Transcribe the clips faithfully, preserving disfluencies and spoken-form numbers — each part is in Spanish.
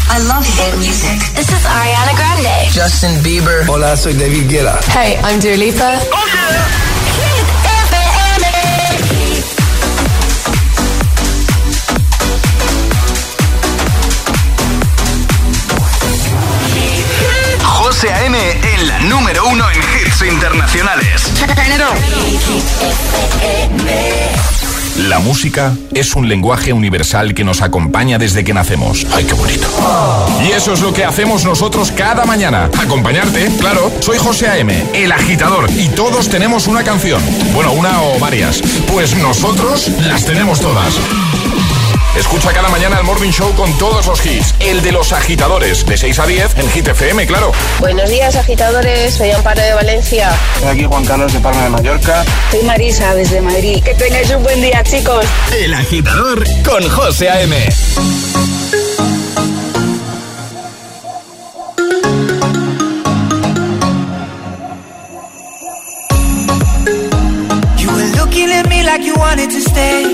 I love hit music. This is Ariana Grande. Justin Bieber. Hola, soy David Guetta. Hey, I'm Dua Lipa. Oh yeah. José A M en la número uno en hits internacionales. La música es un lenguaje universal que nos acompaña desde que nacemos. ¡Ay, qué bonito! Y eso es lo que hacemos nosotros cada mañana. Acompañarte, claro. Soy José A M, el agitador, y todos tenemos una canción. Bueno, una o varias. Pues nosotros las tenemos todas. Escucha cada mañana el Morning Show con todos los hits. El de los agitadores, de seis a diez en Hit F M, claro. Buenos días, agitadores. Soy Amparo de Valencia. Soy aquí Juan Carlos de Palma de Mallorca. Soy Marisa desde Madrid. Que tengáis un buen día, chicos. El agitador con José A M. You were looking at me like you wanted to stay.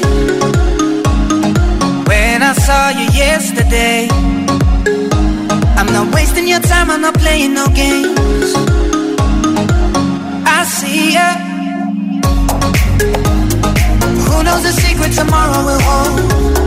When I saw you yesterday, I'm not wasting your time, I'm not playing no games. I see ya. Who knows the secret tomorrow will hold?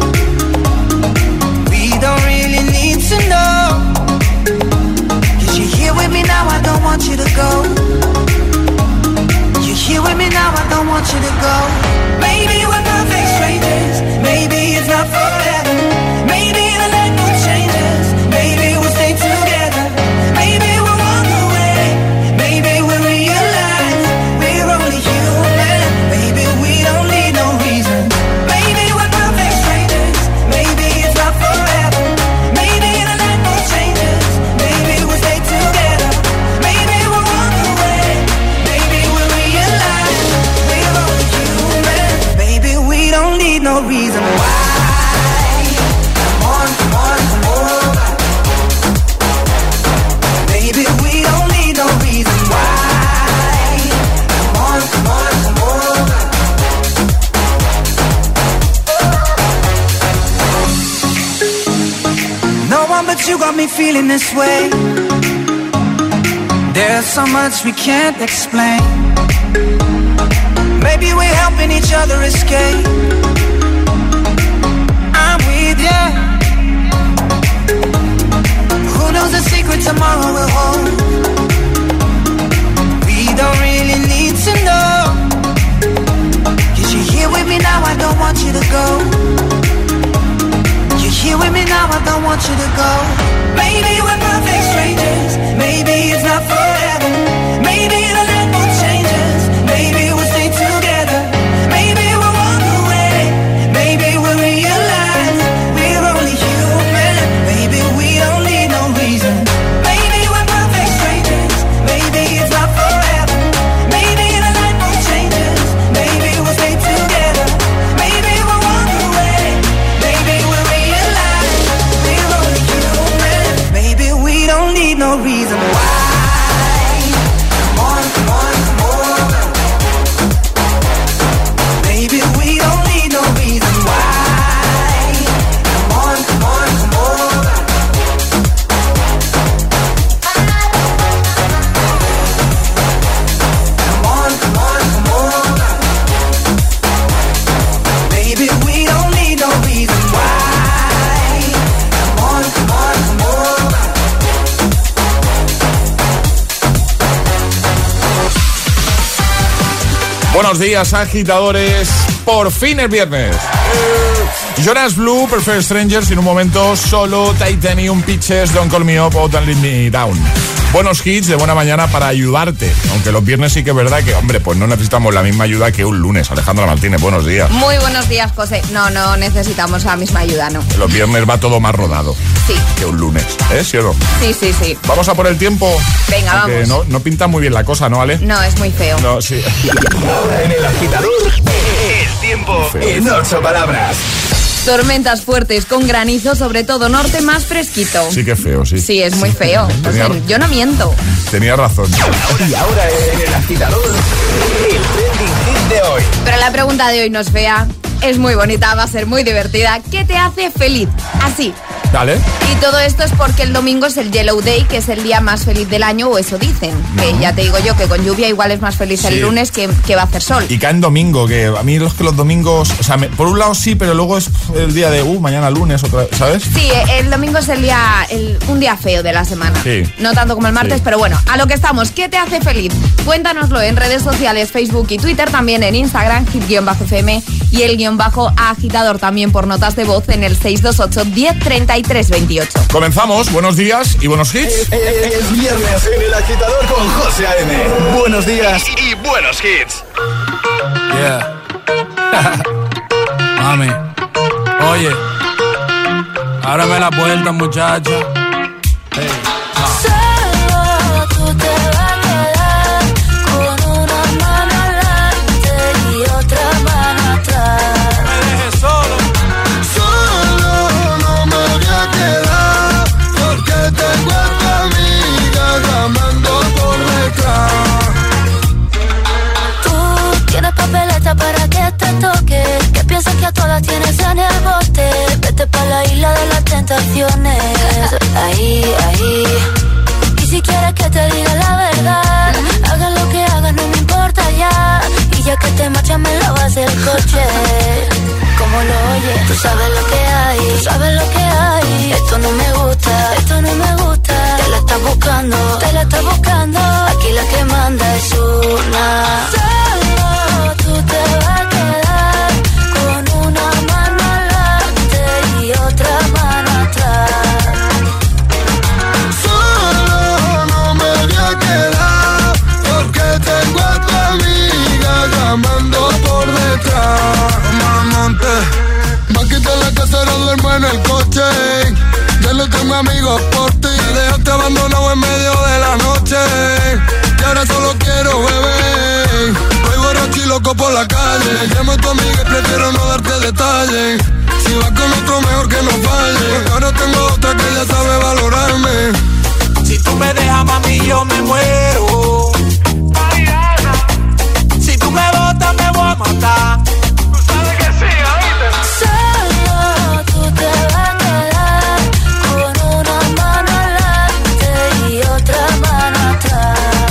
We don't really need to know. 'Cause you're here with me now, I don't want you to go. You're here with me now, I don't want you to go. Maybe we're perfect strangers. Maybe it's not forever. Maybe the night will change us. Maybe we'll stay together. Maybe we'll walk away. Maybe we'll realize we're only human. Maybe we don't need no reason. Maybe we're perfect strangers. Maybe it's not forever. Maybe the night will change us. Maybe we'll stay together. Maybe we'll walk away. Maybe we'll realize we're only human. Maybe we don't need no reason why. You got me feeling this way. There's so much we can't explain. Maybe we're helping each other escape. I'm with you. Who knows the secret tomorrow will hold? We don't really need to know. 'Cause you're here with me now, I don't want you to go. You're here with me now, I don't want you to go. Maybe we're perfect strangers. Maybe it's not forever. Maybe the night will change us. Maybe we'll stay together. Maybe we'll walk away. Maybe we'll realize we're only human. Maybe we don't need no reason. Maybe we're perfect strangers. Maybe it's not forever. Maybe the night will change us. Maybe we'll stay together. Maybe we'll walk away. Maybe we'll realize we're only human. Maybe we don't need no reason why. Come on, come on, come on. Maybe we don't need no reason why. Come on, come on, come on. Come on, come on, come on. Maybe we don't need no reason why. Come on, come on, come on. Buenos días, agitadores. Por fin es viernes. Eh, Jonas Blue, Perfect Strangers, y en un momento solo Titanium, Pitches, Don't Call Me Up o Don't Let Me Down. Buenos hits de buena mañana para ayudarte. Aunque los viernes sí que es verdad que, hombre, pues no necesitamos la misma ayuda que un lunes. Alejandra Martínez, buenos días. Muy buenos días, José. No, no necesitamos la misma ayuda, ¿no? Los viernes va todo más rodado. Sí. Que un lunes, ¿eh? ¿Sí o no? Sí, sí, sí. Vamos a por el tiempo. Venga, Aunque vamos. No, no pinta muy bien la cosa, ¿no, Ale? No, es muy feo. No, sí. Ahora en el agitador, el tiempo en ocho palabras. Tormentas fuertes con granizo, sobre todo norte, más fresquito. Sí que es feo, sí. Sí, es muy feo. Tenía, o sea, yo no miento. Tenía razón. Y ahora en el agitador, el trending hit de hoy. Pero la pregunta de hoy no es fea, es muy bonita, va a ser muy divertida. ¿Qué te hace feliz? Así, Dale. Y todo esto es porque el domingo es el Yellow Day, que es el día más feliz del año, o eso dicen. No. Que ya te digo yo que con lluvia igual es más feliz sí. el lunes que, que va a hacer sol. Y cae en domingo, que a mí los que los domingos, o sea, me, por un lado sí, pero luego es el día de, uh, mañana lunes, otra vez, ¿sabes? Sí, el domingo es el día, el, un día feo de la semana. Sí. No tanto como el martes, sí. pero bueno, a lo que estamos. ¿Qué te hace feliz? Cuéntanoslo en redes sociales, Facebook y Twitter, también en Instagram, hit-F M y el guión bajo agitador también por notas de voz en el seis dos ocho, diez, treinta y tres, veintiocho. Comenzamos, buenos días y buenos hits. Es, es, es viernes en el agitador con José A M. Buenos días y, y buenos hits. Yeah. Mami, oye, ábrame la puerta, muchacha. Hey. Solo tú te vas a quedar con una mano adelante y otra mano atrás. Me dejes solo. Solo no me voy a quedar porque tengo a tu amiga llamando por detrás. Tú tienes papeleta para que te toque, que piensas que a todas tienes en el bote. Vete pa' la isla de las tentaciones. Ahí, ahí. Y si quieres que te diga la verdad, haga lo que hagas, no me importa ya. Y ya que te marchas me lavas el coche. Como lo oyes, tú sabes lo que hay, tú sabes lo que hay. Esto no me gusta, esto no me gusta. Te la estás buscando, te la estás buscando. Aquí la que manda es una. Solo tú te vas a quedar con una mano adelante y otra mano atrás. Solo no me voy a quedar porque tengo a tu amiga llamando por detrás. Mamante, va a quitar la casa, no duermo en el coche. Ya no tengo amigos por ti. Me dejaste abandonado en medio de la noche y ahora solo quiero beber. Voy borracho y loco por la calle. Llamo a tu amiga y prefiero no darte detalles. Si vas con otro mejor que no falle, porque ahora tengo otra que ya sabe valorarme. Si tú me dejas, mami, yo me muero. Si tú me botas, me voy a matar. Tú sabes que sí, ¿oíste? Solo tú te vas a quedar con una mano adelante y otra mano atrás.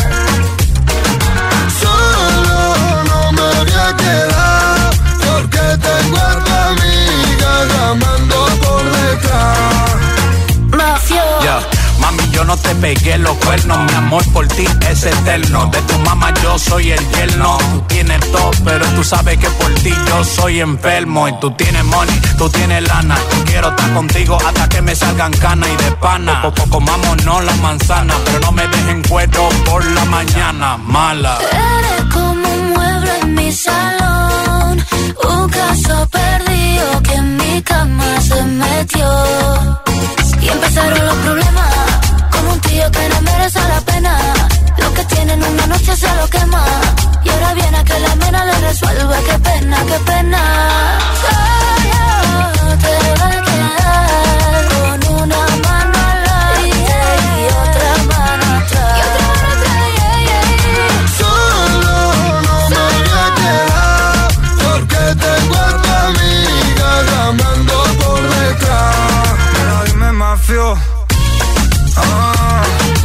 Solo no me voy a quedar porque tengo a tu amiga llamando por detrás. Mafio. Yeah. Mami, yo no te pegué los cuernos, mi amor por ti es eterno. De tu mamá yo soy el yerno. Tú tienes todo, pero tú sabes que por ti yo soy enfermo. Y tú tienes money, tú tienes lana. Quiero estar contigo hasta que me salgan canas y de pana. Poco comámonos la manzana, pero no me dejen cuero por la mañana, mala. Eres como un mueble en mi salón, un caso perdido que en mi cama se metió. Y empezaron los problemas, con un tío que no merece la pena. Lo que tienen una noche se lo quema. Y ahora viene a que la mena le resuelva. Qué pena, qué pena. Solo te va a quedar con una mano adelante y otra mano atrás. Y otra mano atrás, yeah, yeah. Solo no me voy a quedar porque tengo a tu amiga llamando por detrás. Pero dime, mafio. Ah.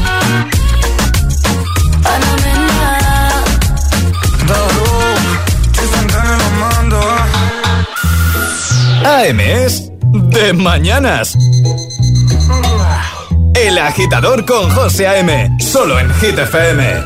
A M es de mañanas. El agitador con José A M, solo en Hit F M.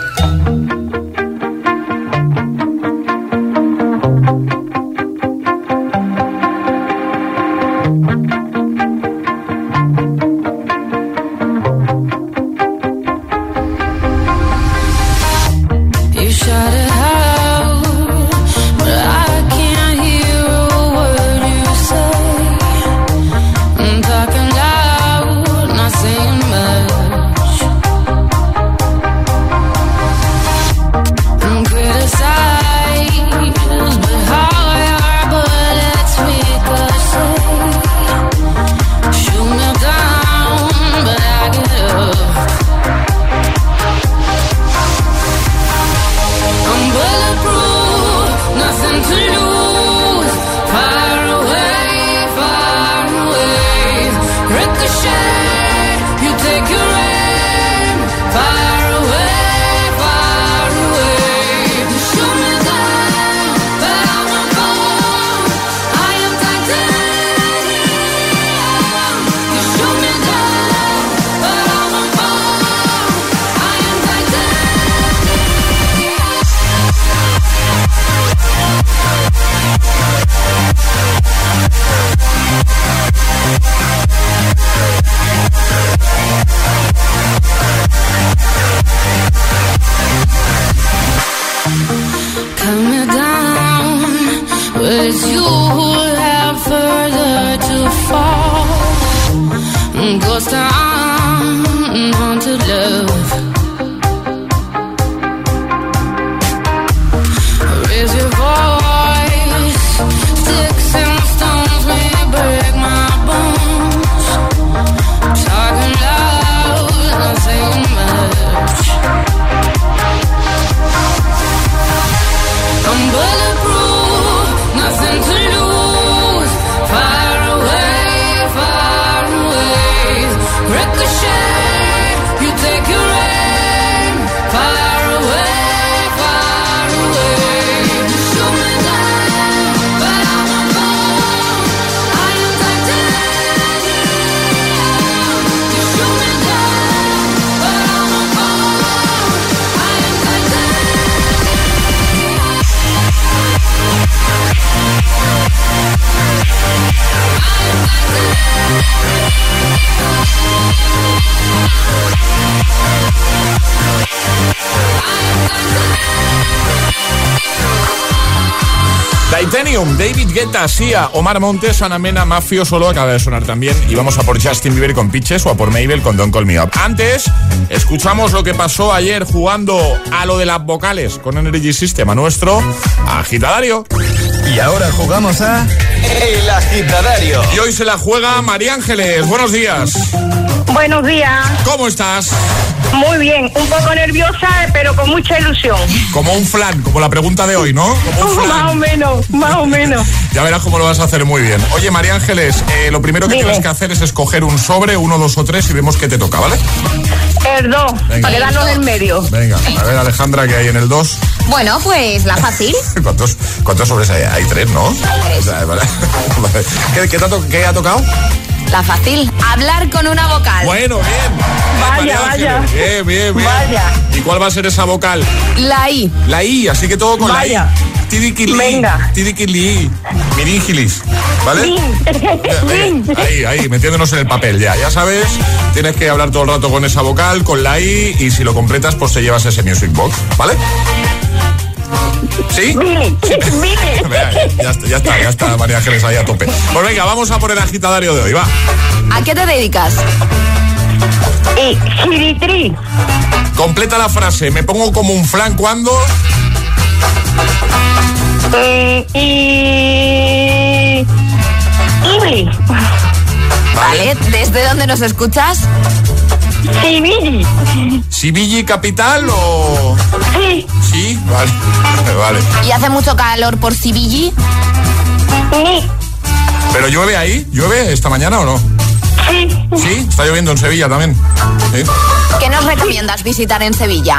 Talking loud, not saying much. ghost town, haunted love. Raise your voice, sticks and stones may break my bones. Talking loud, not saying much. I'm bulletproof, nothing to lose. Far away, far away. Ricochet, you take your aim. Far away, far away. You shoot me down, but I won't fall. I am titanium. You shoot me down, but I won't fall. I am Titanium, David Guetta, Sia, Omar Montes, Ana Mena, Mafio Solo acaba de sonar también. Y vamos a por Justin Bieber con Pitches o a por Mabel con Don't Call Me Up. Antes, escuchamos lo que pasó ayer jugando a lo de las vocales con Energy System, a nuestro agitadario. Y ahora jugamos a El Agitadario. Y hoy se la juega María Ángeles. Buenos días. Buenos días. ¿Cómo estás? Muy bien, un poco nerviosa, pero con mucha ilusión. Como un flan, como la pregunta de hoy, ¿no? Como un flan. Más o menos, más o menos. Ya verás cómo lo vas a hacer muy bien. Oye, María Ángeles, eh, lo primero que Dime. tienes que hacer es escoger un sobre, uno, dos o tres, y vemos qué te toca, ¿vale? El dos, para quedarnos en medio. Venga, a ver, Alejandra, ¿qué hay en el dos? Bueno, pues la fácil. ¿Cuántos, cuántos sobres hay? Hay tres, ¿no? Hay tres. Vale, vale. ¿Qué, qué, te ha to- ¿Qué ha tocado? La fácil, hablar con una vocal. Bueno, bien. Vaya, vaya. Bien, bien, bien. Vaya. ¿Y cuál va a ser esa vocal? La I. La I, así que todo con Vaya. la I. Tidiquili. Venga. Tidiquili. Miringilis. ¿Vale? Bin. Ahí, ahí, metiéndonos en el papel ya. Ya sabes, tienes que hablar todo el rato con esa vocal, con la I, y si lo completas, pues te llevas ese Music Box, ¿vale? ¿Sí? Billy, Billy. Ya está, ya está, ya está María Ángeles ahí a tope. Pues venga, vamos a por el agitadario de hoy, va. ¿A qué te dedicas? Y Giritri. Completa la frase, me pongo como un flan cuando... Eh, y... Ibli. Vale, ¿desde dónde nos escuchas? Sibili. ¿Sibili capital o...? Sí. Sí, vale, vale. ¿Y hace mucho calor por Sibili? Sí. ¿Pero llueve ahí? ¿Llueve esta mañana o no? Sí. ¿Sí? Está lloviendo en Sevilla también. ¿Sí? ¿Qué nos recomiendas visitar en Sevilla?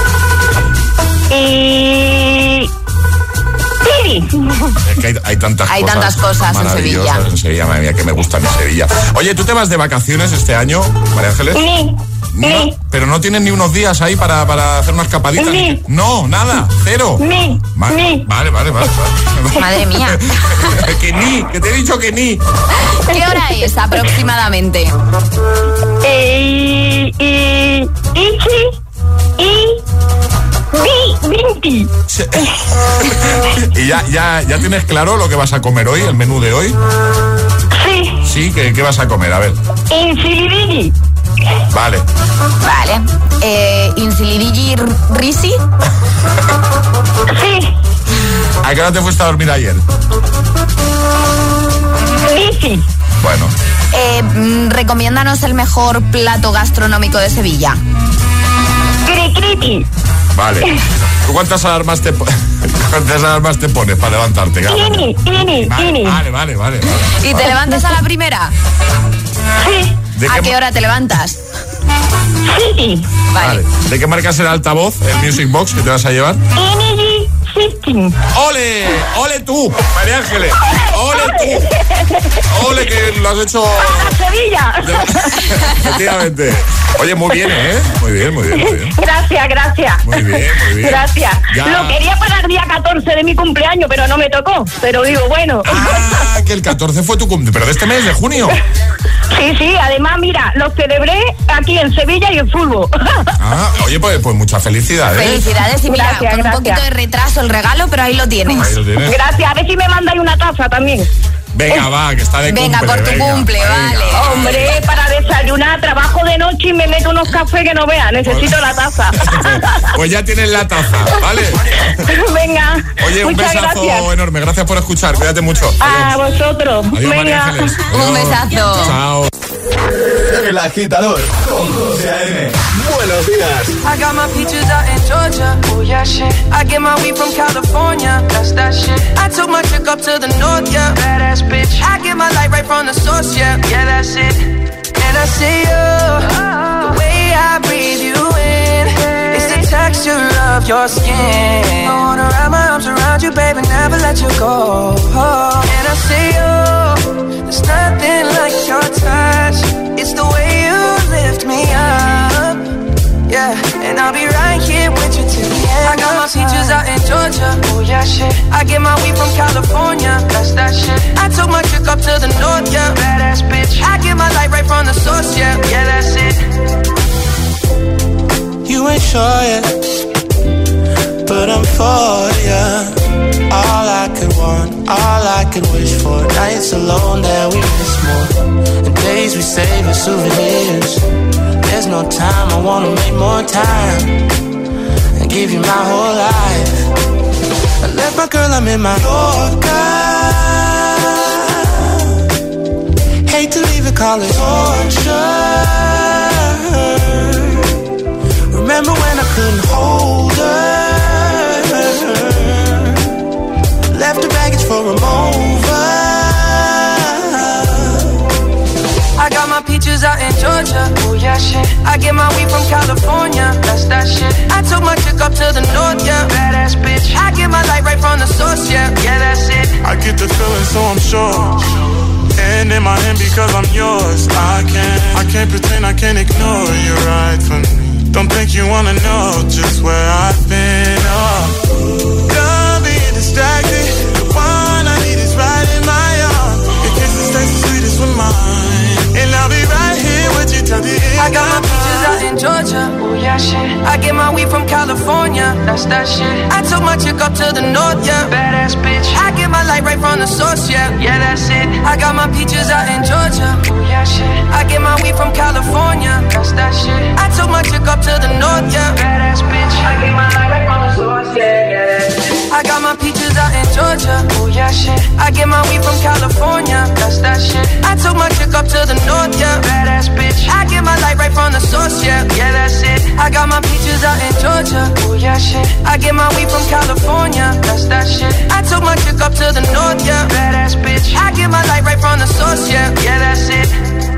Y... Sí. Es que hay, hay tantas hay cosas tantas cosas en Sevilla. En Sevilla, madre mía, que me gusta mi Sevilla. Oye, ¿tú te vas de vacaciones este año, María Ángeles? Sí. No, sí. pero no tienes ni unos días ahí para, para hacer una escapadita. Sí. No, nada, cero. Sí. Ma- sí. Vale, vale, vale, vale. Madre mía. Que ni, que te he dicho que ni. ¿Qué hora es aproximadamente? Eh, y... Y... Ichi. Y... Vi, Vinti. ¿Y ya, ya, ya tienes claro lo que vas a comer hoy, el menú de hoy? Sí. Sí, ¿qué, qué vas a comer? A ver. Insilidigi. Vale. Vale. Eh, ¿Insilidigi Risi? Sí. ¿A qué hora te fuiste a dormir ayer? Lisi. Bueno. Eh, mm, recomiéndanos el mejor plato gastronómico de Sevilla. Cricriti. Vale. ¿Tú cuántas alarmas te, po- cuántas alarmas te pones para levantarte? Ini, ini, Vale, ini. vale, vale, vale. ¿Y te levantas a la primera? Sí. ¿De ¿A qué qué ma- hora te levantas? Sí. Vale. Vale. ¿De qué marca es el altavoz, el Music Box que te vas a llevar? Energy System. ¡Ole! ¡Ole tú, María Ángeles! ¡Ole tú! ¡Ole que lo has hecho! ¡A Sevilla! Efectivamente. Oye, muy bien, ¿eh? Muy bien, muy bien, muy bien. Gracias, gracias. Muy bien, muy bien. Gracias. Ya. Lo quería para el día catorce de mi cumpleaños, pero no me tocó. Pero digo, bueno. Ah, que el catorce fue tu cumpleaños, pero de este mes, de junio. Sí, sí, además, mira, lo celebré aquí en Sevilla y en fútbol. Ah, oye, pues, pues muchas felicidades. Felicidades y mira, Gracias, con un gracias. poquito de retraso el regalo, pero ahí lo tienes. Ahí lo tienes. Gracias, a ver si me mandáis una taza también. Venga, va, que está de Venga, cumple. por tu venga, cumple, venga. vale. Hombre, para desayunar, trabajo de noche y me meto unos cafés que no veas. Necesito la taza. Pues ya tienes la taza, ¿vale? Venga. Oye, un muchas besazo gracias. enorme. Gracias por escuchar. Cuídate mucho. A Adiós. vosotros. Adiós, María Venga. Ángeles. Un Adiós. besazo. Chao. El agitador con José A M. Buenos días. I got my peaches out in Georgia. Oh yeah, shit. I get my weed from California. That's that shit. I took my chick up to the north, yeah. Badass bitch. I get my light right from the source, yeah. Yeah, that's it. And I see you, the way I breathe you in. It's the texture of your skin. I wanna wrap my arms around you, baby, never let you go. And I see you, there's nothing like your touch. It's the way you lift me up. Yeah, and I'll be right here with you till the end. I got my peaches out in Georgia. Oh yeah, shit. I get my weed from California. That's that shit. I took my chick up to the north, yeah. Badass bitch. I get my light right from the source, yeah. Yeah, that's it. You ain't sure yet, but I'm for ya. All I could want, all I could wish for. Nights alone that we miss more, and days we save as souvenirs. There's no time, I wanna make more time and give you my whole life. I left my girl, I'm in my Yorker. Hate to leave it, call it torture. Remember when I couldn't hold her? Left her baggage for a mover. I got my peaches out in Georgia. Oh yeah, shit. I get my weed from California. That's that shit. I took my chick up to the north, yeah. Badass bitch. I get my light right from the source, yeah. Yeah, that's it. I get the feeling, so I'm sure. And in my hand because I'm yours. I can't, I can't pretend, I can't ignore you right from me. Don't think you wanna know just where I've been. Oh, done being distracted. The one I need is right in my arms. Your kisses taste the sweetest with mine. And I'll be right here with you till the end. I got my peaches out in Georgia. Oh yeah, shit. I get my weed from California. That's that shit. I took my chick up to the north, yeah. Badass bitch. I get my light right from the source, yeah. Yeah, that's it. I got my peaches out in Georgia. Oh yeah, shit. I get my weed from California. That's that shit. I took my chick up to the north, yeah. Badass bitch. I get my light right from the source, yeah. Yeah, that's it. I got my peaches out in Georgia. Oh yeah, shit. I get my weed from California. That's that shit. I took my chick up to the north, yeah. Badass bitch. I get my light right from the source, yeah. Yeah, that's it. I got my peaches out in Georgia. Oh yeah, shit. I get my weed from California. That's that shit. I took my chick up to the north, yeah. Badass bitch. I get my light right from the source, yeah. Yeah, that's it.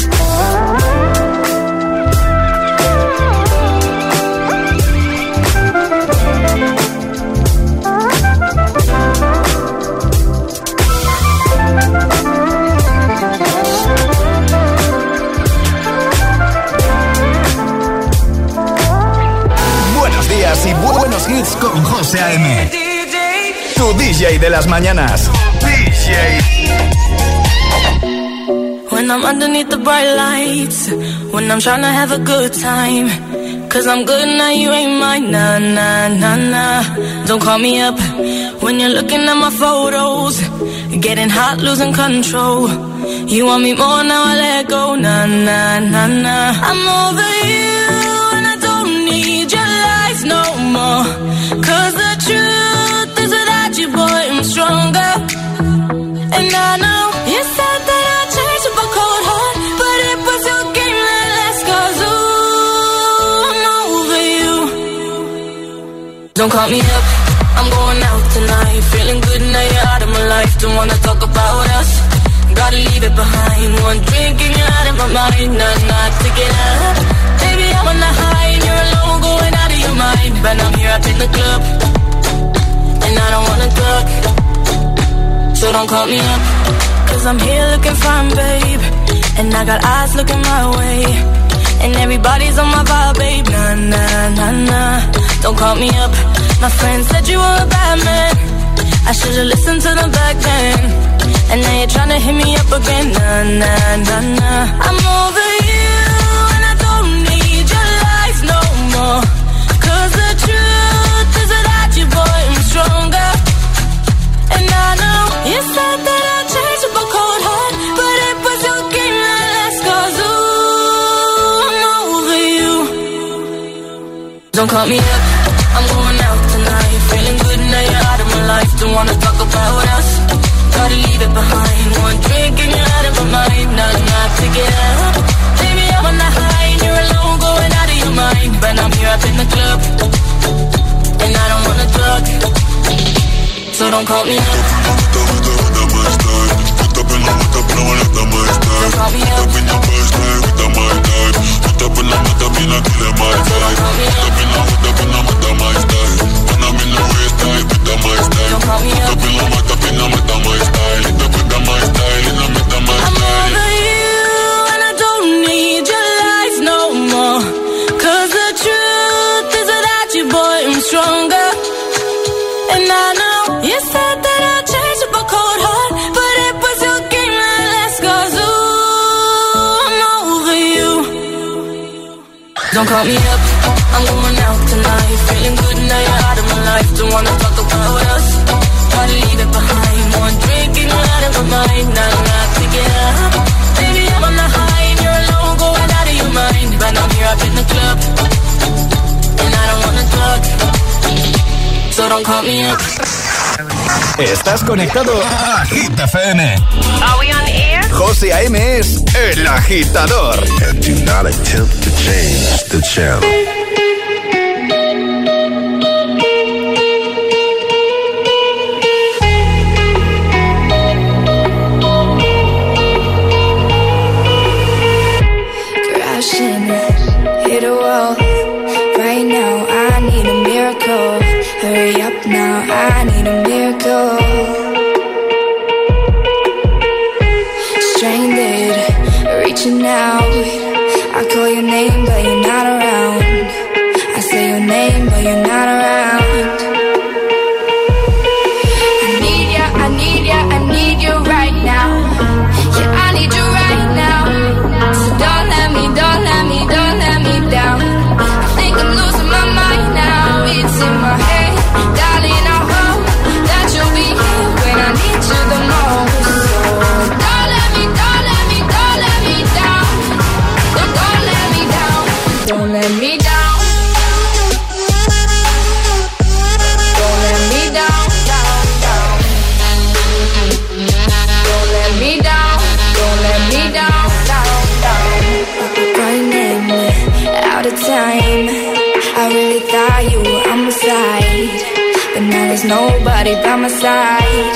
Buenos días y bu- buenos hits con José A M. Tu D J de las mañanas. D J. When I'm underneath the bright lights, when I'm trying to have a good time, cause I'm good now, you ain't mine, nah, nah, nah, nah. Don't call me up when you're looking at my photos, getting hot, losing control. You want me more, now I let go, nah, nah, nah, nah. I'm over you and I don't need your lies no more, cause the truth is without you, boy, I'm stronger. And I know you said that I'd change up a cold heart, but it was your game that last, cause ooh, I'm over you. Don't call me up, I'm going out tonight, feeling good now you're out of my life, don't wanna talk about us, gotta leave it behind, one drink and you're out of my mind, not, not to get up, baby I'm on the high and you're alone going out of your mind, but I'm here up in the club, and I don't wanna talk. So don't call me up, cause I'm here looking fine, babe, and I got eyes looking my way, and everybody's on my vibe, babe, nah, nah, nah, nah. Don't call me up, my friend said you were a bad man, I should've listened to them back then, and now you're tryna hit me up again, nah, nah, nah, nah. I'm over you, and I don't need your lies no more, cause the truth is without you, boy, I'm stronger. And I know you said that I'd change up a cold Don't call me up, I'm going out tonight. Feeling good now you're out of my life. Don't wanna talk about us, gotta leave it behind. One drink and you're out of my mind. Not enough to get up. Baby, I'm on the high and you're alone, going out of your mind. But I'm here up in the club, and I don't wanna talk, so don't call me up. Up in the mata, pero molesta my style. Up in your first night with the my type. Put up in the mata, be not kill my vibe. Put up in the mata, be not mata my style. When I'm in the waist tight with the my style. Put up in the mata, be not mata my style. It up with the my style, it not mata my style. I'm over you and I don't need your lies no more. Cause the truth is without you, boy, I'm stronger. And I know you said that I'd change up a cold heart, but it was your game that last. Cause ooh, I'm over you. Don't call me up, I'm going out tonight. Feeling good now you're out of my life. Don't wanna talk about us, gotta leave it behind. One drink and you're out of my mind. Not enough to get up. Baby, I'm on the high and you're alone, going out of your mind. But I'm here up in the club, and I don't wanna talk, so don't call me up. Estás conectado a Hit F M. Are we on the air? José A M es el agitador. And do not attempt to change the channel. Crashing, hit a wall. Right now, I need a miracle. Hurry up now, I need a miracle. Stranded, reaching out. I call your name, but you're not around. I say your name, but you're not around. I need ya, I need ya, I need you right now. Yeah, I need you right now. So don't let me, don't let me, don't let me down. I think I'm losing my mind now. It's in my head, darling, I hope that you'll be here when I need you the most. So don't let me, don't let me, don't let me down. Don't, don't let me down. Don't let me down. Don't let me down, down, down. Don't let me down. Don't let me down, down, down. Running out of time. I really thought you were on my side, but now there's nobody by my side.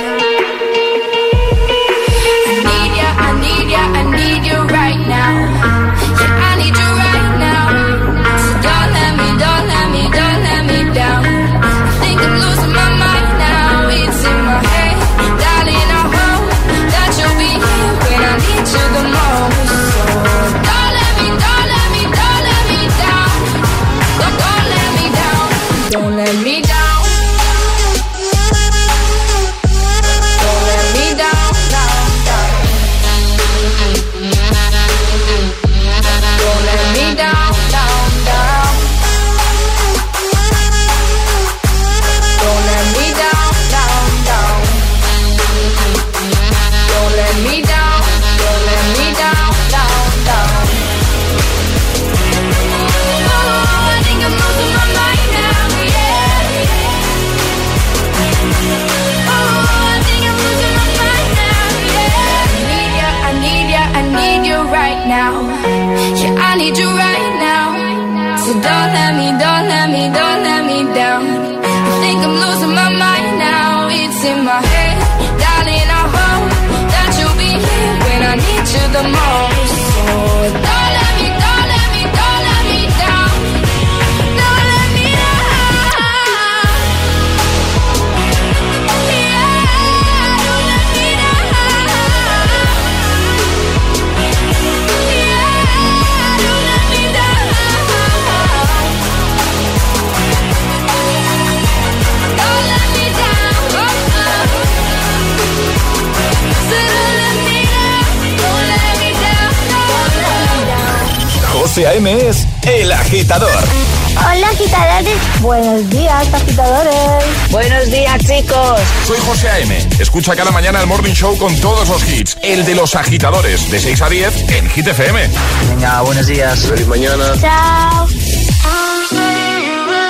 I need ya, I need ya, I need you right now. Yeah, I need you right now. So don't let me, don't let me, don't let me down. I think I'm losing my mind now. It's in my head, darling, I hope that you'll be here when I need you the most. So don't let me, don't let me, don't let me down. Don't, don't let me down. Don't let me down. Don't let me down, down, down. Don't let me down, down, down. Don't let me down, down, down. Don't let me down, don't let me down, down, down. Oh, I think I'm losing my mind now, yeah. Oh, I think I'm losing my mind now, yeah. I need ya, I need ya, I need you right now. Yeah, I need you right now. So don't let me, don't let me, don't let me down. I think I'm losing my mind now. It's in my head, darling, I hope that you'll be here when I need you the most. So don't let me, don't let me, don't let me down. Don't let me down. Yeah, don't let me down. Yeah, don't let me down. Don't let me down. So don't let me down. Don't let me down. Don't let me down. José A M es el agitador. Hola, agitadores. Buenos días, agitadores. Buenos días, chicos. Soy José A M. Escucha cada mañana el Morning Show con todos los hits. El de los agitadores, de seis a diez en Hit F M. Venga, buenos días. Feliz mañana. Chao. I'll say you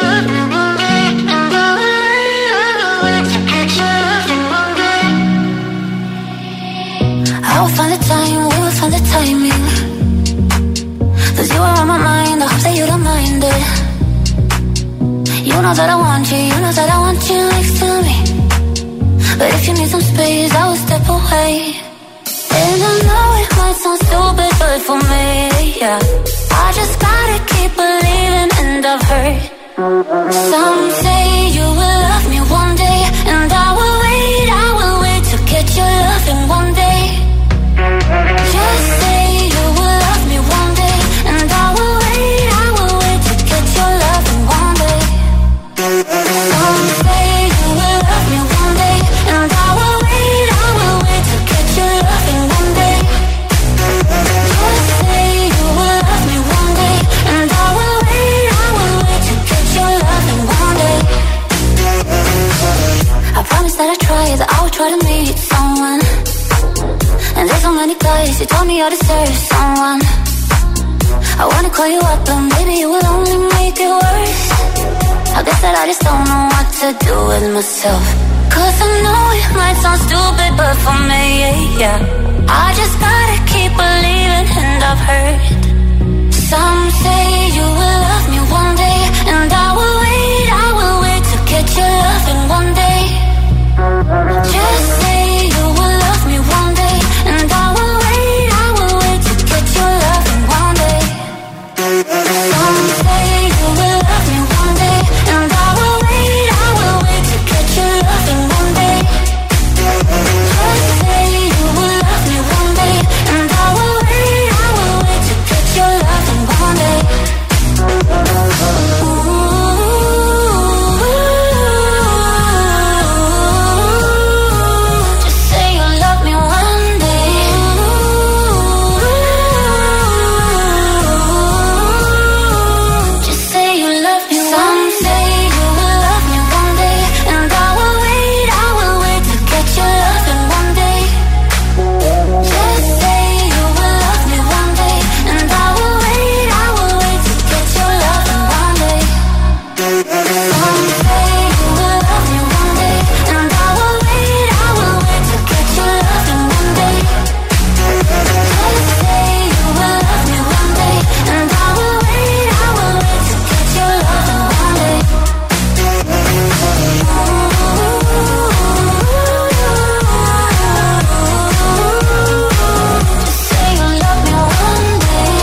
would find the time, we would find the timing. Cause you are on my mind, I hope that you don't mind it. You know that I want you, you know that I want you next to me. But if you need some space, I will step away. And I know it might sound stupid, but for me, yeah, I just gotta keep believing, and I've heard some say you will love me one day, and I will wait, I will wait to get your loving one day. Just say you will love me one day, and I will wait, I will wait to get your loving one day. Some say you will love me one day, and I will wait, I will wait to get your loving one day. Just say you will love me one day, and I will wait, I will wait to get your loving one day. I promise that I try, that I will try to meet someone. And there's so many guys who told me I deserve someone. I wanna call you up, but maybe you will only make it worse. I guess that I just don't know what to do with myself. Cause I know it might sound stupid, but for me, yeah, I just gotta keep believing, and I've heard some say you will love me one day, and I will wait, I will wait to get your loving one day. Just say you will love me one day, and I will wait, I will wait to get your loving one day. Some say you will love me one day, and I will wait, I will wait to get your loving one day. Just say you will love me one day, and I will wait, I will wait to get your loving one day. Just say you love me one day. Just say you love me. Some say you will love me one day, and I will wait, I will wait to get your loving one day. Just say you will love me one day, and I will wait, I will wait to get your loving one day. Some say you will love me one day, and I will wait, I will wait to get your loving one day. Just say you will love me one day, and I will wait, I will wait to get your loving one day. Just say you love me one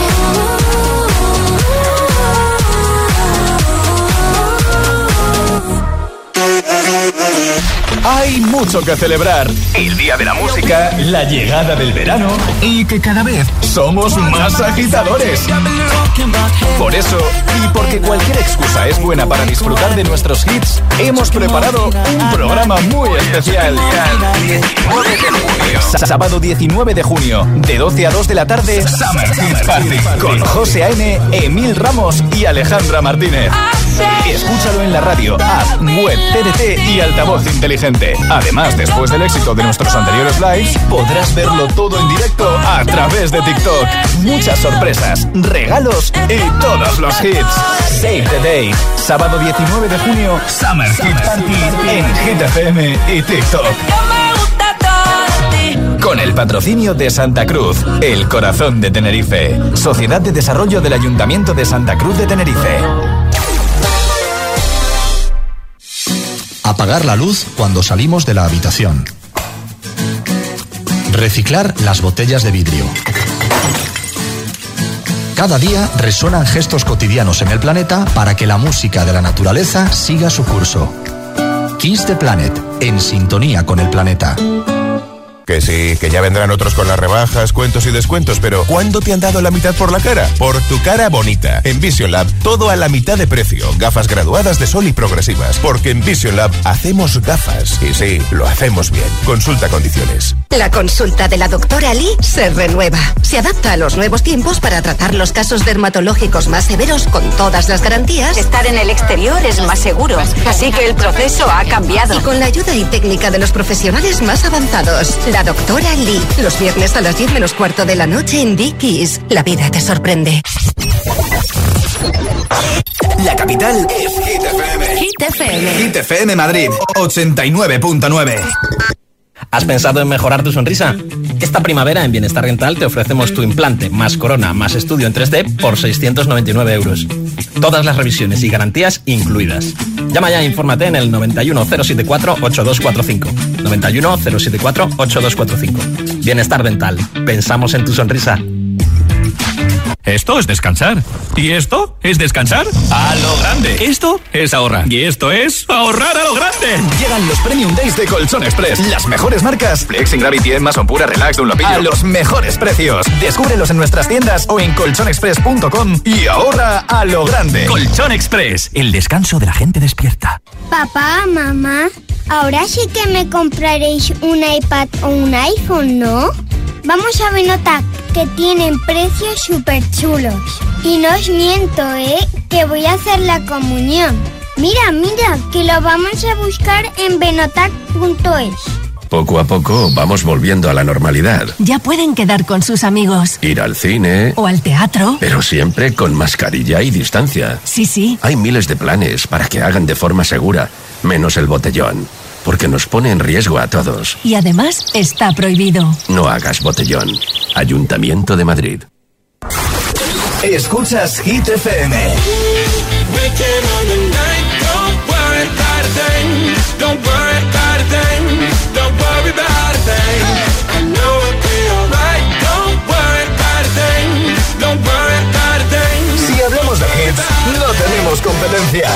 Hay mucho que celebrar. El Día de la Música, la llegada del verano y que cada vez somos más agitadores. Por eso, y porque cualquier excusa es buena para disfrutar de nuestros hits, hemos preparado un programa muy especial. diecinueve de junio. Sábado diecinueve de junio, de doce a dos de la tarde, Summer Hit Party, con José A M, Emil Ramos y Alejandra Martínez. Escúchalo en la radio, app, web, T D T y altavoz inteligente. Además, después del éxito de nuestros anteriores lives, podrás verlo todo en directo a través de TikTok. Muchas sorpresas, regalos y todos los hits. Save the Day. Sábado diecinueve de junio, Summer Hit Party en Hit F M y TikTok. Con el patrocinio de Santa Cruz, el corazón de Tenerife. Sociedad de Desarrollo del Ayuntamiento de Santa Cruz de Tenerife. Apagar la luz cuando salimos de la habitación. Reciclar las botellas de vidrio. Cada día resuenan gestos cotidianos en el planeta para que la música de la naturaleza siga su curso. Kiss the Planet, en sintonía con el planeta. Que sí, que ya vendrán otros con las rebajas, cuentos y descuentos, pero ¿cuándo te han dado la mitad por la cara? Por tu cara bonita. En Vision Lab, todo a la mitad de precio. Gafas graduadas de sol y progresivas. Porque en Vision Lab hacemos gafas. Y sí, lo hacemos bien. Consulta condiciones. La consulta de la doctora Lee se renueva. Se adapta a los nuevos tiempos para tratar los casos dermatológicos más severos con todas las garantías. Estar en el exterior es más seguro, así que el proceso ha cambiado. Y con la ayuda y técnica de los profesionales más avanzados. La doctora Lee. Los viernes a las diez menos cuarto de la noche en Dickies. La vida te sorprende. La capital es Hit F M. Hit F M. Hit F M Madrid, ochenta y nueve punto nueve. ¿Has pensado en mejorar tu sonrisa? Esta primavera en Bienestar Dental te ofrecemos tu implante más corona más estudio en tres D por seiscientos noventa y nueve euros. Todas las revisiones y garantías incluidas. Llama ya e infórmate en el noventa y uno cero setenta y cuatro ochenta y dos cuarenta y cinco. noventa y uno cero setenta y cuatro ochenta y dos cuarenta y cinco. Bienestar Dental. Pensamos en tu sonrisa. Esto es descansar. ¿Y esto es descansar a lo grande? Esto es ahorrar. Y esto es ahorrar a lo grande. Llegan los Premium Days de Colchón Express. Las mejores marcas. Flex, Gravity, Mason Pura, Relax, Dunlopillo. A los mejores precios. Descúbrelos en nuestras tiendas o en colchón express punto com y ahorra a lo grande. Colchón Express. El descanso de la gente despierta. Papá, mamá, ahora sí que me compraréis un iPad o un iPhone, ¿no? Vamos a Benotac, que tienen precios súper chulos. Y no os miento, ¿eh? Que voy a hacer la comunión. Mira, mira, que lo vamos a buscar en benotac punto es. Poco a poco vamos volviendo a la normalidad. Ya pueden quedar con sus amigos. Ir al cine. O al teatro. Pero siempre con mascarilla y distancia. Sí, sí. Hay miles de planes para que hagan de forma segura, menos el botellón. Porque nos pone en riesgo a todos. Y además está prohibido. No hagas botellón. Ayuntamiento de Madrid. Escuchas Hit F M. Si hablamos de hits, no tenemos competencia.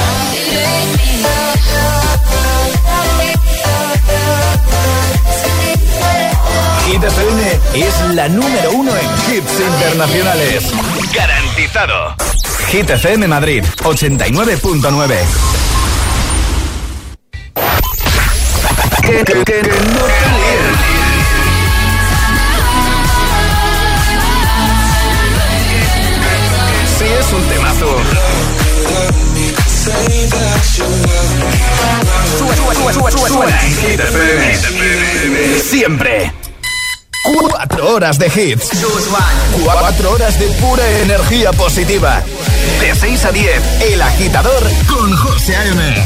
Hit F M es la número uno en hits internacionales. ¡Garantizado! Hit F M Madrid, ochenta y nueve punto nueve. Que, que, que, que no te líen. Sí, es un temazo. Suena, suena, suena, suena en Hit F M. Siempre. Cuatro horas de hits. Cuatro horas de pura energía positiva. De seis a diez, El Agitador con José A M.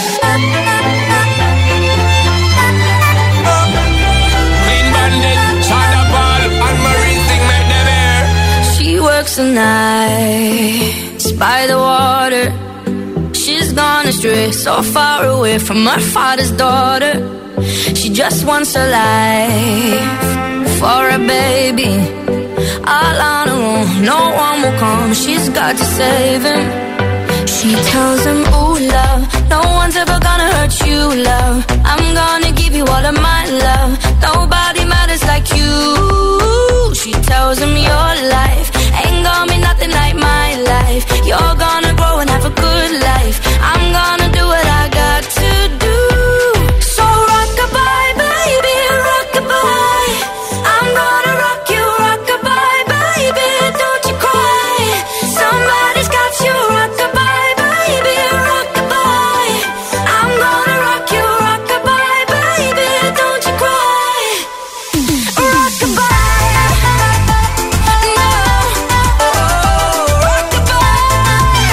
She works the nights by the water. She's gone astray, so far away from her father's daughter. She just wants a life for a baby, all on her own, no one will come, she's got to save him. She tells him, ooh, love, no one's ever gonna hurt you, love. I'm gonna give you all of my love, nobody matters like you. She tells him, your life ain't gonna be nothing like my life. You're gonna grow and have a good life. I'm gonna do what I got to do. So rock-a-bye, baby, rock-a-bye. I'm gonna rock you, rock-a-bye, baby, don't you cry. Somebody's got you, rock-a-bye, baby, rock-a-bye. I'm gonna rock you, rock-a-bye, baby, don't you cry. Rock-a-bye, no, oh, rock-a-bye,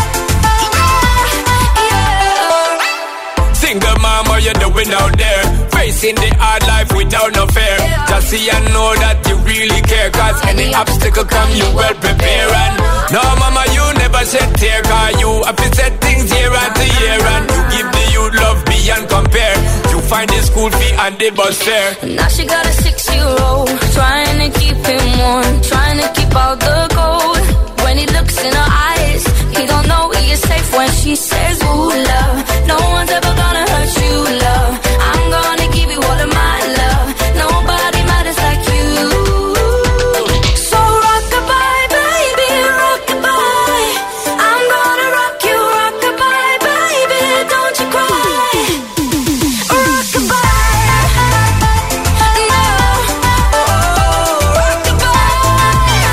yeah. Single mom, what you doing out there? Facing the hard life without no fear. Just see and know that you really care. Cause any obstacle come, you well prepare. And no mama, you never shed tear. Cause you have to set things year after year. And you give the youth love beyond compare. You find the school fee and the bus fare. Now she got a six-year-old, trying to keep him warm, trying to keep out the cold. When he looks in her eyes, he don't know he is safe when she says, ooh, love, no one's ever gonna hurt you, love. I'm gonna give you all of my love, nobody matters like you. So rock-a-bye, baby, rock-a-bye. I'm gonna rock you, rock-a-bye, baby, don't you cry. Rock-a-bye, no, oh, rock-a-bye.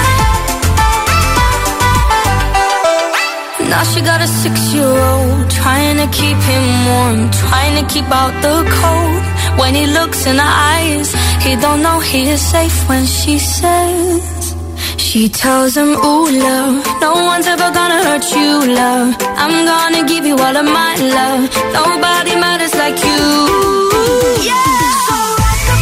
Now she got a six-year-old, trying to keep him warm, trying to keep out the cold. When he looks in her eyes, he don't know he is safe when she says, she tells him, ooh, love, no one's ever gonna hurt you, love. I'm gonna give you all of my love, nobody matters like you. Yeah. So rock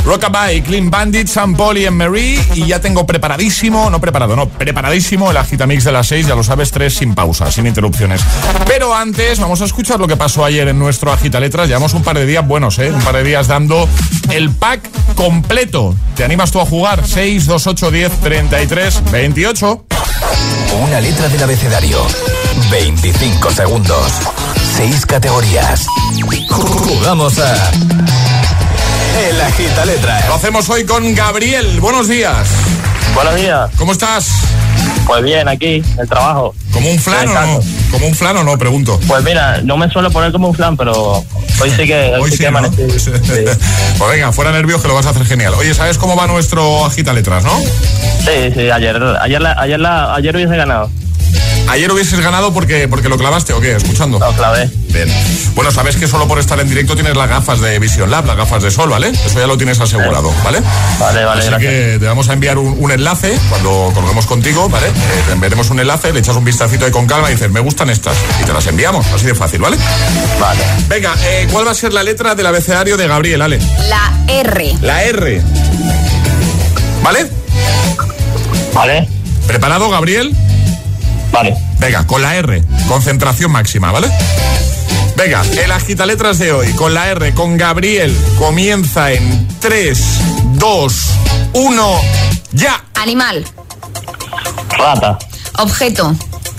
Rockabye, Clean Bandit, Sam Paul y Marie. Y ya tengo preparadísimo, no preparado, no, preparadísimo el agitamix de las seis, ya lo sabes, tres sin pausa, sin interrupciones. Pero antes vamos a escuchar lo que pasó ayer en nuestro agitaletras. Llevamos un par de días buenos, ¿eh? Un par de días dando el pack completo. ¿Te animas tú a jugar? seis, dos, ocho, diez, treinta y tres, veintiocho. Una letra del abecedario. veinticinco segundos. seis categorías. Jugamos a... El Agitaletras. Lo hacemos hoy con Gabriel. Buenos días. Buenos días. ¿Cómo estás? Pues bien, aquí, en el trabajo. ¿Como un flan o no? ¿Como un flan o no? Pregunto. Pues mira, no me suelo poner como un flan, pero hoy sí que... Hoy sí, sí, que ¿no? amanecí. Sí. Pues venga, fuera nervios que lo vas a hacer genial. Oye, ¿sabes cómo va nuestro Agitaletras, no? Sí, sí, ayer, ayer, la, ayer, la, ayer hubiese ganado. ¿Ayer hubieses ganado porque, porque lo clavaste o qué? ¿Escuchando? Lo clavé. Bien. Bueno, sabes que solo por estar en directo tienes las gafas de Vision Lab, las gafas de sol, ¿vale? Eso ya lo tienes asegurado, ¿vale? Vale, vale, Así gracias. que te vamos a enviar un, un enlace cuando colguemos contigo, ¿vale? Eh, te enviaremos un enlace, le echas un vistacito ahí con calma y dices, me gustan estas. Y te las enviamos, así de fácil, ¿vale? Vale. Venga, eh, ¿cuál va a ser la letra del abecedario de Gabriel, Ale? La R. La R. ¿Vale? Vale. ¿Preparado, Gabriel? Vale. Venga, con la R, concentración máxima, ¿vale? Venga, el agitaletras de hoy, con la R, con Gabriel, comienza en tres, dos, uno, ya. Animal. Rata. Objeto.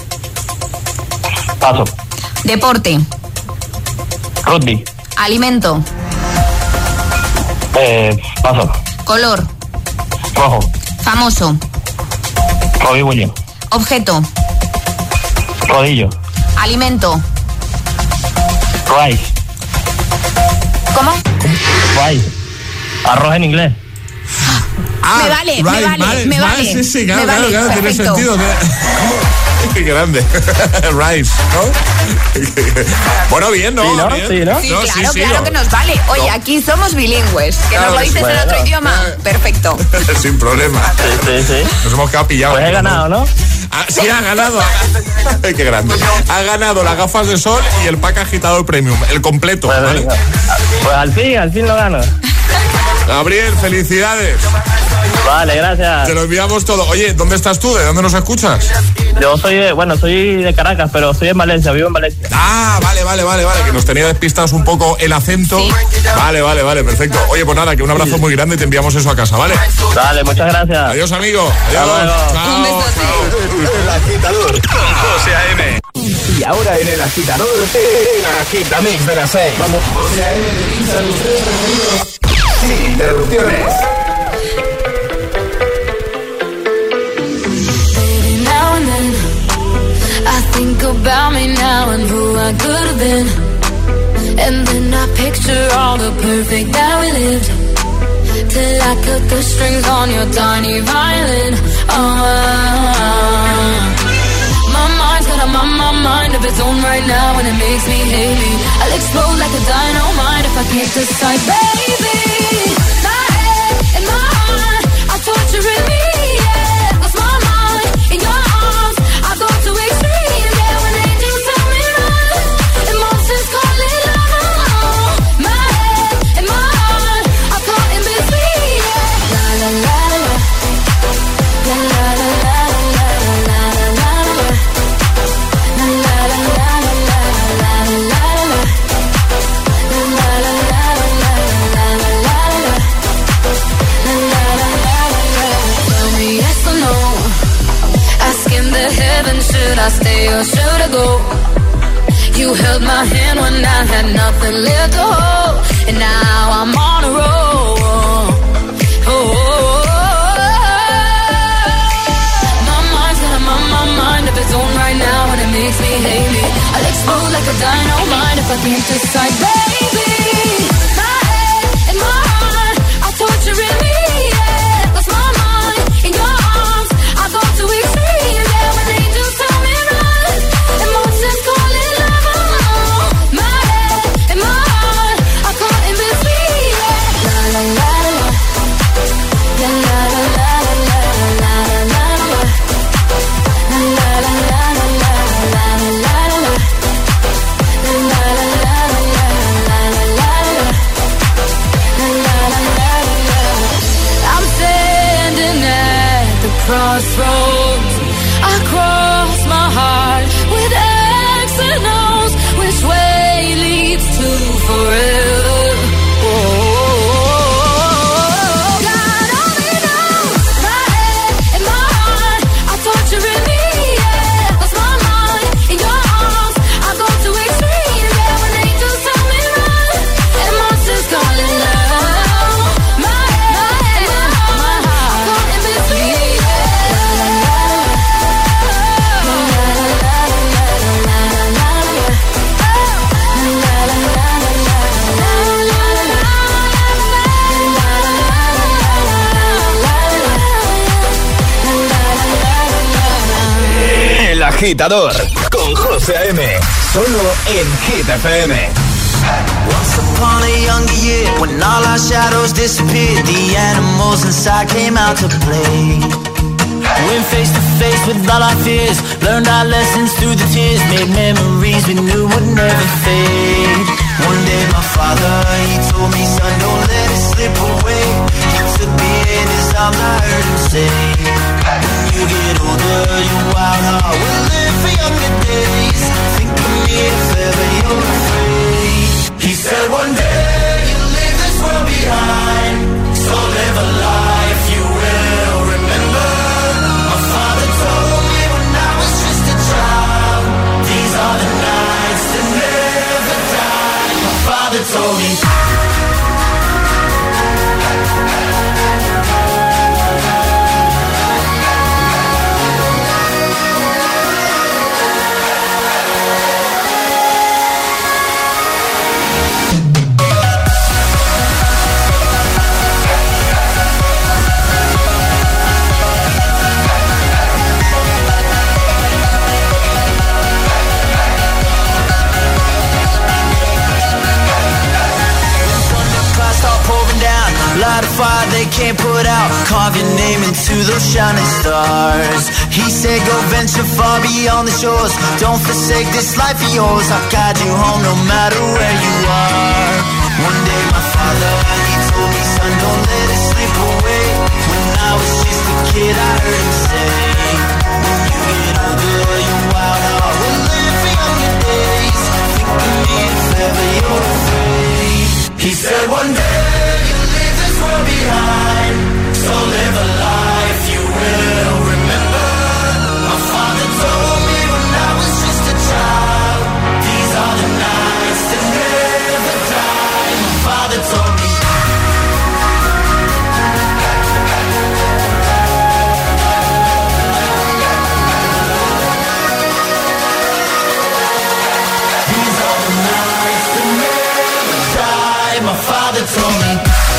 Paso. Deporte. Rugby. Alimento. Eh, paso. Color. Rojo. Famoso. Robbie Williams. Objeto. Rodillo. Alimento. Rice. ¿Cómo? Rice. Arroz en inglés. Ah, me vale, right, me vale, vale, me vale, vale. Sí, sí, claro, me claro, vale, claro, tiene perfecto. sentido. Qué grande. Rice, ¿no? Bueno, bien, ¿no? Sí, ¿no? Bien. Sí, ¿no? Sí, No, claro, sí, sí, claro no. que nos vale. Oye, No. aquí somos bilingües. Que Claro nos lo que sí. dices en Bueno. otro idioma. Perfecto. Sin problema. Sí, sí, sí. Nos hemos quedado pillados. Pues he ganado, ¿no? Ah, sí, ha ganado. Ay, qué grande. Ha ganado las gafas de sol y el pack agitador premium, el completo. Pues, ¿vale? venga. Pues al fin, al fin lo gano. Gabriel, felicidades. Vale, gracias. Te lo enviamos todo. Oye, ¿dónde estás tú? ¿De dónde nos escuchas? Yo soy de, bueno, soy de Caracas, pero soy en Valencia, vivo en Valencia. Ah, vale, vale, vale, vale, que nos tenía despistados un poco el acento. Sí. Vale, vale, vale, perfecto. Oye, pues nada, que un abrazo muy grande y te enviamos eso a casa, ¿vale? Dale, muchas gracias. Adiós, amigo. Hasta Adiós. luego. Chao, Un besote. chao. El agitador con José A M. Y ahora en el agitador, el agitamix de las seis. Vamos, José A M te pincha los tres preferidos sin interrupciones. Now and then, I think about me now and who I could have been. And then I picture all the perfect that we lived. Till I cut the strings on your tiny violin. Oh, my mind's got a my, my mind of its own right now, and it makes me hate me. I'll explode like a dynamite if I can't decide, baby. My head and my heart are torturing me. Yeah, lost my mind in your arms. I go to extremes. Yeah, when angels tell me run, emotions call it love. My head and my heart are caught in between. Yeah, la la la la, la la la la la la la la la. La la la la la la la la la. La la la la la la la la la. La la la la la. Tell me yes or no. Asking the heavens, should I stay or should I go? You held my hand when I had nothing left to hold, and now I'm on a roll. Oh, oh, oh, oh. My mind's got a my, my mind of its own right now, and it makes me hate me. I'll explode like a dynamite if I can't decide, baby. My head and my heart are torturing me. Yeah, lost my mind in your arms. I go to extremes. Yeah, when angels tell me run, emotions call it love. My head and my heart are caught in between. Yeah, la la la la, la la la la la la la la la. La la la la la la la la la. La la la la la la crossroads. I cross my heart with X and O's. Which way leads to forever? Oh. El Agitador con José A M, solo en Hit F M. Once upon a younger year, when all our shadows disappeared, the animals inside came out to play. Went face to face with all our fears, learned our lessons through the tears, made memories we knew would never fade. One day my father, he told me, son, don't let it slip away. He took me in his arms, I heard him say, when you get older, your wild heart will live for younger days. Think of me if ever you're afraid. He said one day you'll leave this world behind, so live a life you will remember. My father told me when I was just a child, these are the nights that never die. My father told me. Light a fire they can't put out, carve your name into those shining stars. He said go venture far beyond the shores, don't forsake this life of yours. I'll guide you home no matter where you are. One day my father, he told me, son, don't let it slip away. When I was just a kid I heard him say, when you get older your wild heart will live for younger days. Think of me if ever you're afraid. He said one day behind, so live a life you will remember. My father told me when I was just a child, these are the nights that never die. My father told me. These are the nights that never die. My father told me.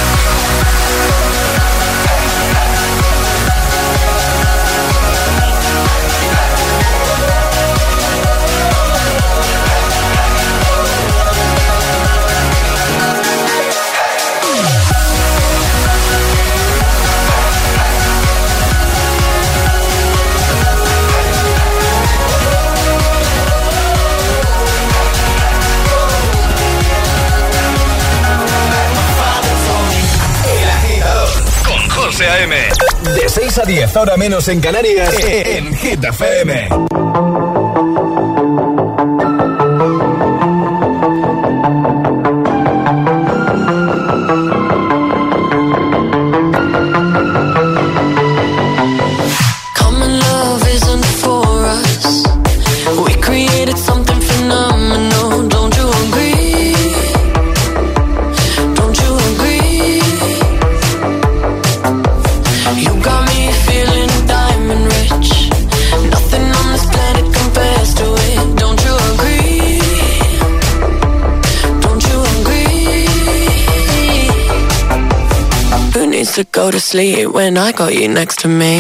José A M, de seis a diez, hora menos en Canarias, en Hit F M. To go to sleep when I got you next to me.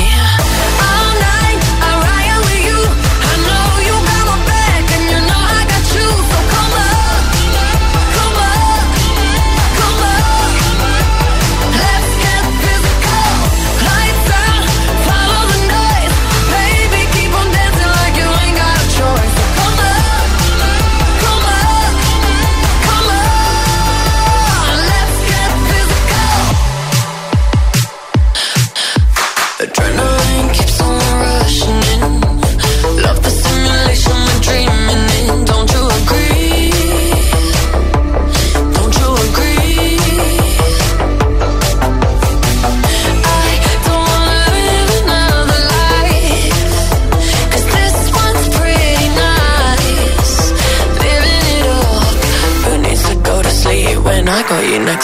Adrenaline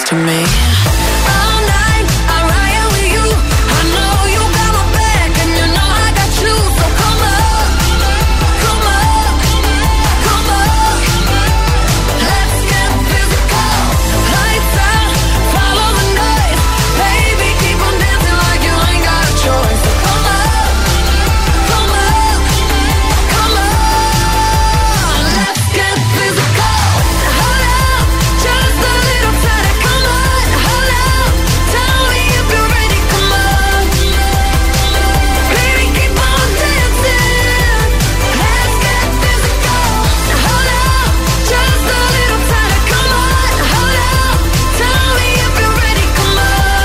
to me. All night, I ride with you. I know you got my back, and you know I got you. So come up, come up, come up. Let's get physical. Lights out, follow the noise. Baby, keep on dancing like you ain't got a choice. So come up, come up, come on. Let's get physical. Hold up, just a little tighter. Come on, hold up. Tell me if you're ready. Come on, baby, keep on dancing. Let's get physical. Hold up, just a little tighter. Come on, hold up. Tell me if you're ready. Come on,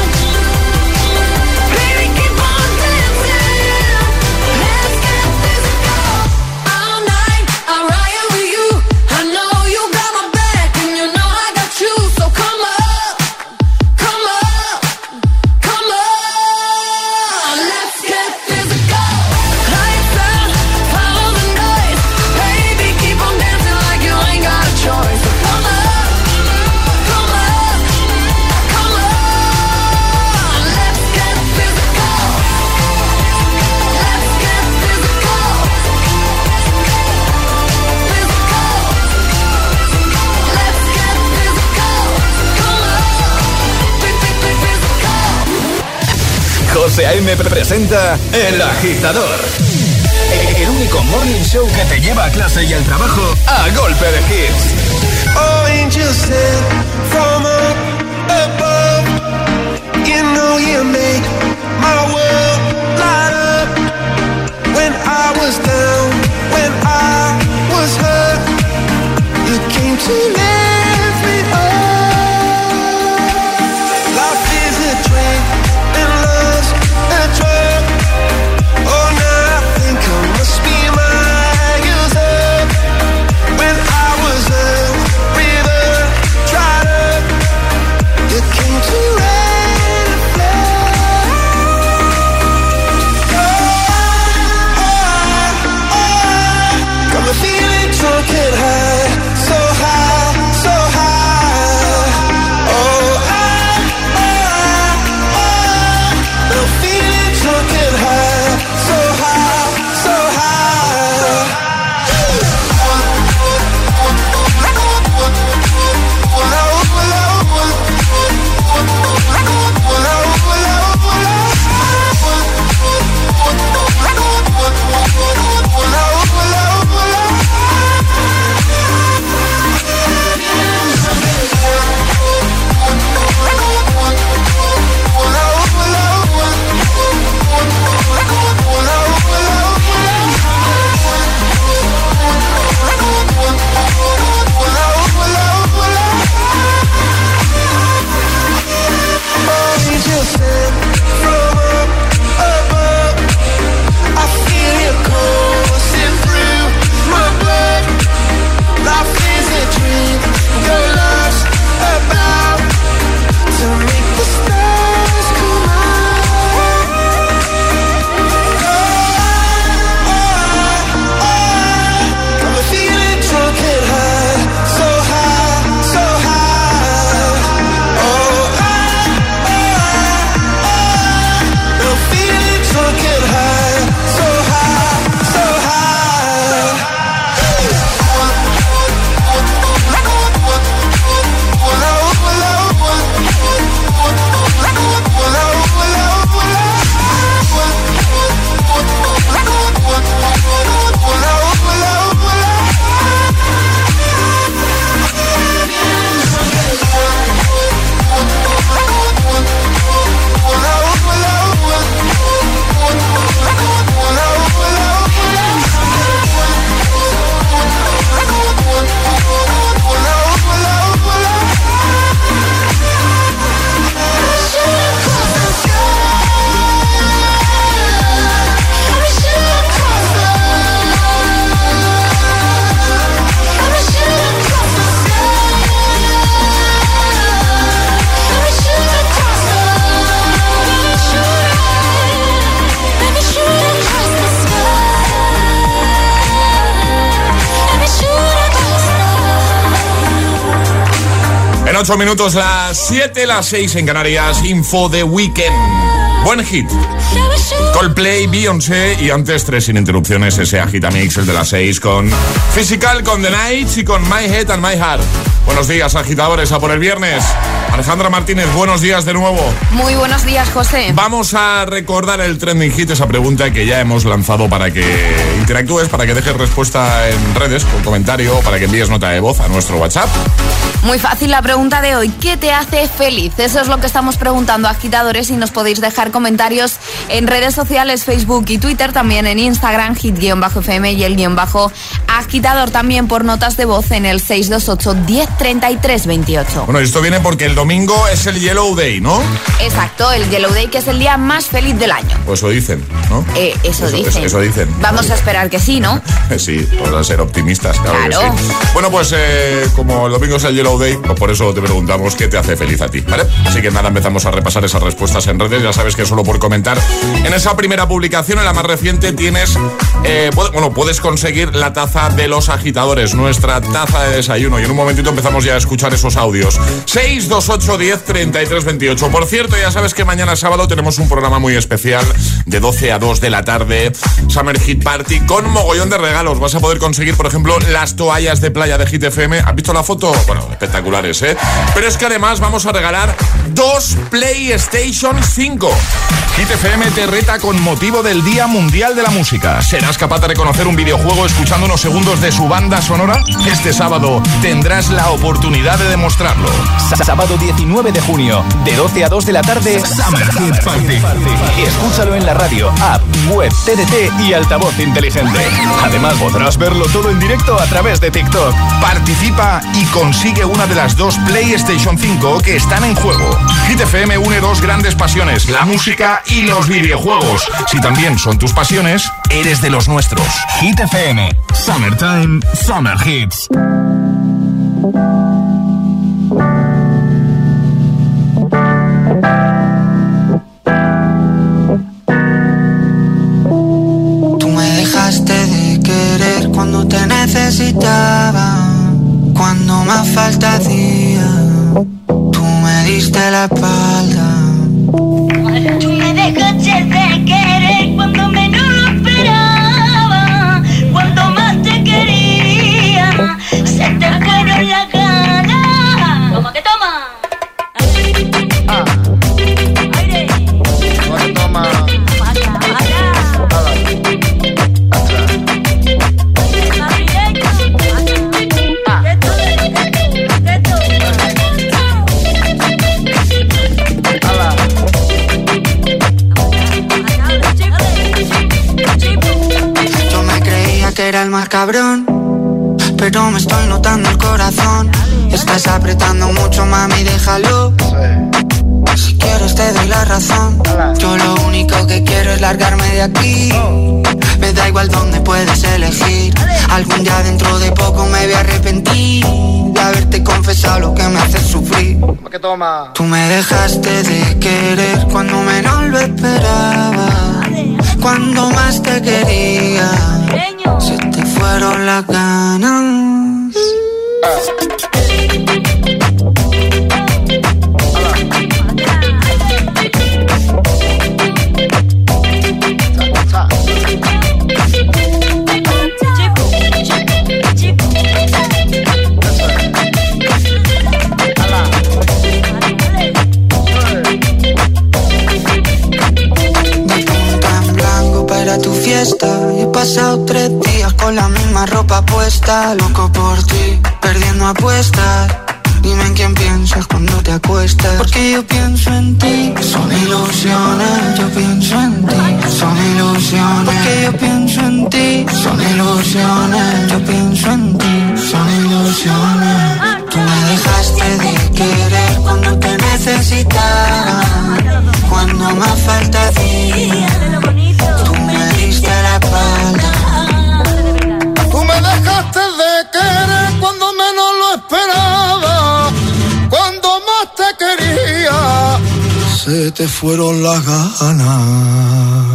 baby, keep on dancing. Let's get physical. All night, I ride with you. I know you got my back, and you know I got you. So come up, come up, come on. Let's get physical. Lights out, follow the noise. Baby, keep on dancing like you ain't got a choice. So come up, come up, come on. Let's get physical. Let's get physical. Physical. Let's get physical. Come on. Physical. José A M presenta El Agitador. El único morning show que te lleva a clase y al trabajo a golpe de hits. Oh, angels sent from up above. You know you make my world light up. When I was down, when I was hurt, you came to lift me up. Life is a drink and love's a drug. Oh, now I think I must be miles up. When I was a river dried up, you came to rain and flood. Oh, oh, oh, got me feeling drunk and high, so high, so high. Oh, I, oh, oh, I'm feeling drunk and high, so high, so high. Oh, En ocho minutos, las siete, las seis en Canarias, Info de Weekend. Buen hit. Coldplay, Beyoncé y antes tres sin interrupciones, ese agitamix, el de las seis con Physical, con The Nights y con My Head and My Heart. Buenos días, agitadores, a por el viernes. Alejandra Martínez, buenos días de nuevo. Muy buenos días, José. Vamos a recordar el trending hit, esa pregunta que ya hemos lanzado para que interactúes, para que dejes respuesta en redes, con comentario, para que envíes nota de voz a nuestro WhatsApp. Muy fácil la pregunta de hoy. ¿Qué te hace feliz? Eso es lo que estamos preguntando a agitadores y nos podéis dejar comentarios en redes sociales, Facebook y Twitter, también en Instagram, hit-fm y el guión bajo agitador, también por notas de voz en el seis dos ocho, diez, treinta y tres, veintiocho. Bueno, esto viene porque el domingo es el Yellow Day, ¿no? Exacto, el Yellow Day, que es el día más feliz del año. Pues eso dicen, ¿no? Eh, eso, eso dicen. Eso, eso dicen. Vamos a esperar que sí, ¿no? Sí, vamos a ser optimistas, claro, claro. que sí. Bueno, pues eh, como el domingo es el Yellow Day, pues por eso te preguntamos qué te hace feliz a ti, ¿vale? Así que nada, empezamos a repasar esas respuestas en redes. Ya sabes que solo por comentar en esa primera publicación, en la más reciente, tienes, eh, puede, bueno, puedes conseguir la taza de los agitadores, nuestra taza de desayuno. Y en un momentito empezamos ya a escuchar esos audios. seis dos ocho, diez, treinta y tres, veintiocho. Por cierto, ya sabes que mañana sábado tenemos un programa muy especial de doce a dos de la tarde, Summer Hit Party, con mogollón de regalos. Vas a poder conseguir, por ejemplo, las toallas de playa de Hit F M. ¿Has visto la foto? Bueno, espectaculares, ¿eh? Pero es que además vamos a regalar dos PlayStation cinco. Hit F M te reta con motivo del Día Mundial de la Música. ¿Serás capaz de reconocer un videojuego escuchando unos segundos de su banda sonora? Este sábado tendrás la oportunidad de demostrarlo. Sábado diecinueve de junio, de doce a dos de la tarde, Summer Hit Party. Escúchalo en la radio, app, web, T D T y altavoz inteligente. Además podrás verlo todo en directo a través de TikTok. Participa y consigue una de las dos PlayStation cinco que están en juego. Hit F M une dos grandes pasiones, la música y los videojuegos. Si también son tus pasiones, eres de los nuestros. Hit F M, Summertime, Summer Hits. Tú me dejaste de querer cuando te necesitaba, cuando más falta hacía. Tú me diste la espalda. Tú me dejaste de querer cuando menos lo esperaba, cuando más te quería, se te fueron las ganas. Toma que toma. Ah. Aire. Toma que toma. Que era el más cabrón, pero me estoy notando el corazón. Estás apretando mucho, mami, déjalo. Si quieres te doy la razón. Yo lo único que quiero es largarme de aquí. Me da igual dónde puedes elegir. Algún día dentro de poco me voy a arrepentir de haberte confesado lo que me hace sufrir. Tú me dejaste de querer cuando menos lo esperaba, cuando más te quería, se te fueron las ganas. Tu fiesta, he pasado tres días con la misma ropa puesta, loco por ti, perdiendo apuestas. Dime en quién piensas cuando te acuestas, porque yo pienso en ti. Son ilusiones, yo pienso en ti. Son ilusiones, porque yo pienso en ti. Son ilusiones, yo pienso en ti. Son ilusiones. Tú me dejaste de querer cuando te necesitaba, cuando más falta hacía. La espalda. Tú me dejaste de querer cuando menos lo esperaba, cuando más te quería, se te fueron las ganas.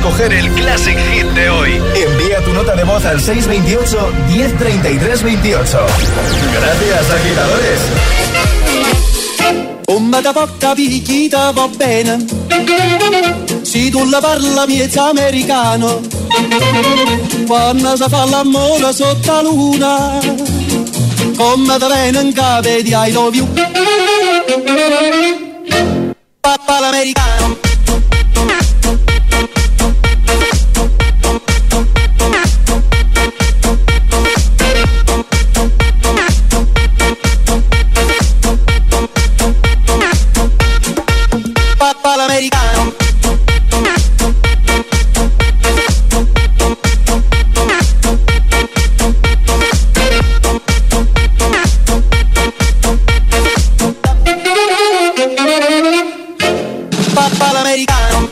escoger el Classic Hit de hoy. Envía tu nota de voz al seis dos ocho, diez treinta y tres veintiocho. Gracias, agitadores. Come da poca picchita va bene, se tu la parla miezza americano, quando si fa l'amore sotto la luna, come da bene in capo di I love you, papà l'americano. Papà l'americano. Papà l'americano.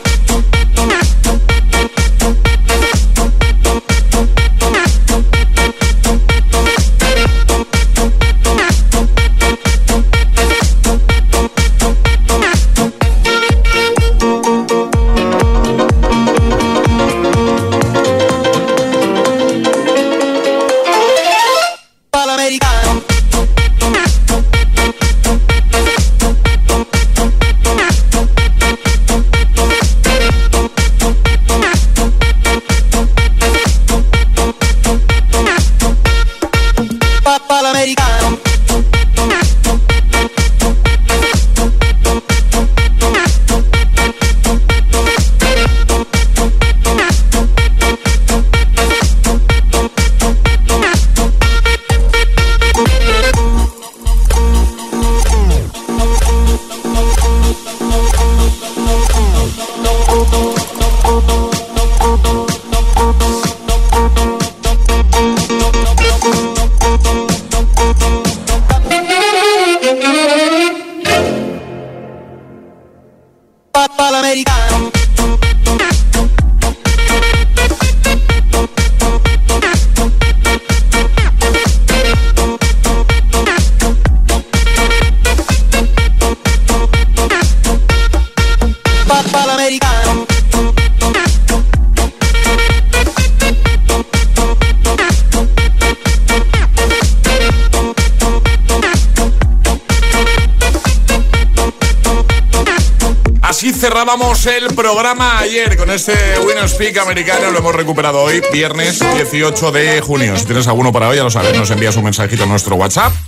Papà l'americano. Papà l'americano. Así cerrábamos el programa ayer con este Winner Speak americano. Lo hemos recuperado hoy, viernes dieciocho de junio. Si tienes alguno para hoy, ya lo sabes, nos envías un mensajito a nuestro WhatsApp